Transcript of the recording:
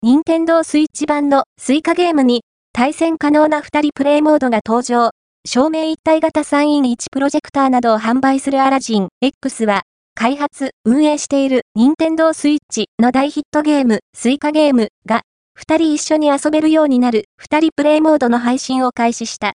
任天堂スイッチ版のスイカゲームに対戦可能な2人プレイモードが登場。照明一体型 3in1 プロジェクターなどを販売するアラジン X は、開発、運営している任天堂スイッチの大ヒットゲームスイカゲームが2人一緒に遊べるようになる2人プレイモードの配信を開始した。